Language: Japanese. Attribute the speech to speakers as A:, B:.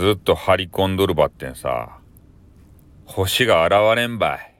A: ずっと張り込んどるばってんさ、星が現れんばい。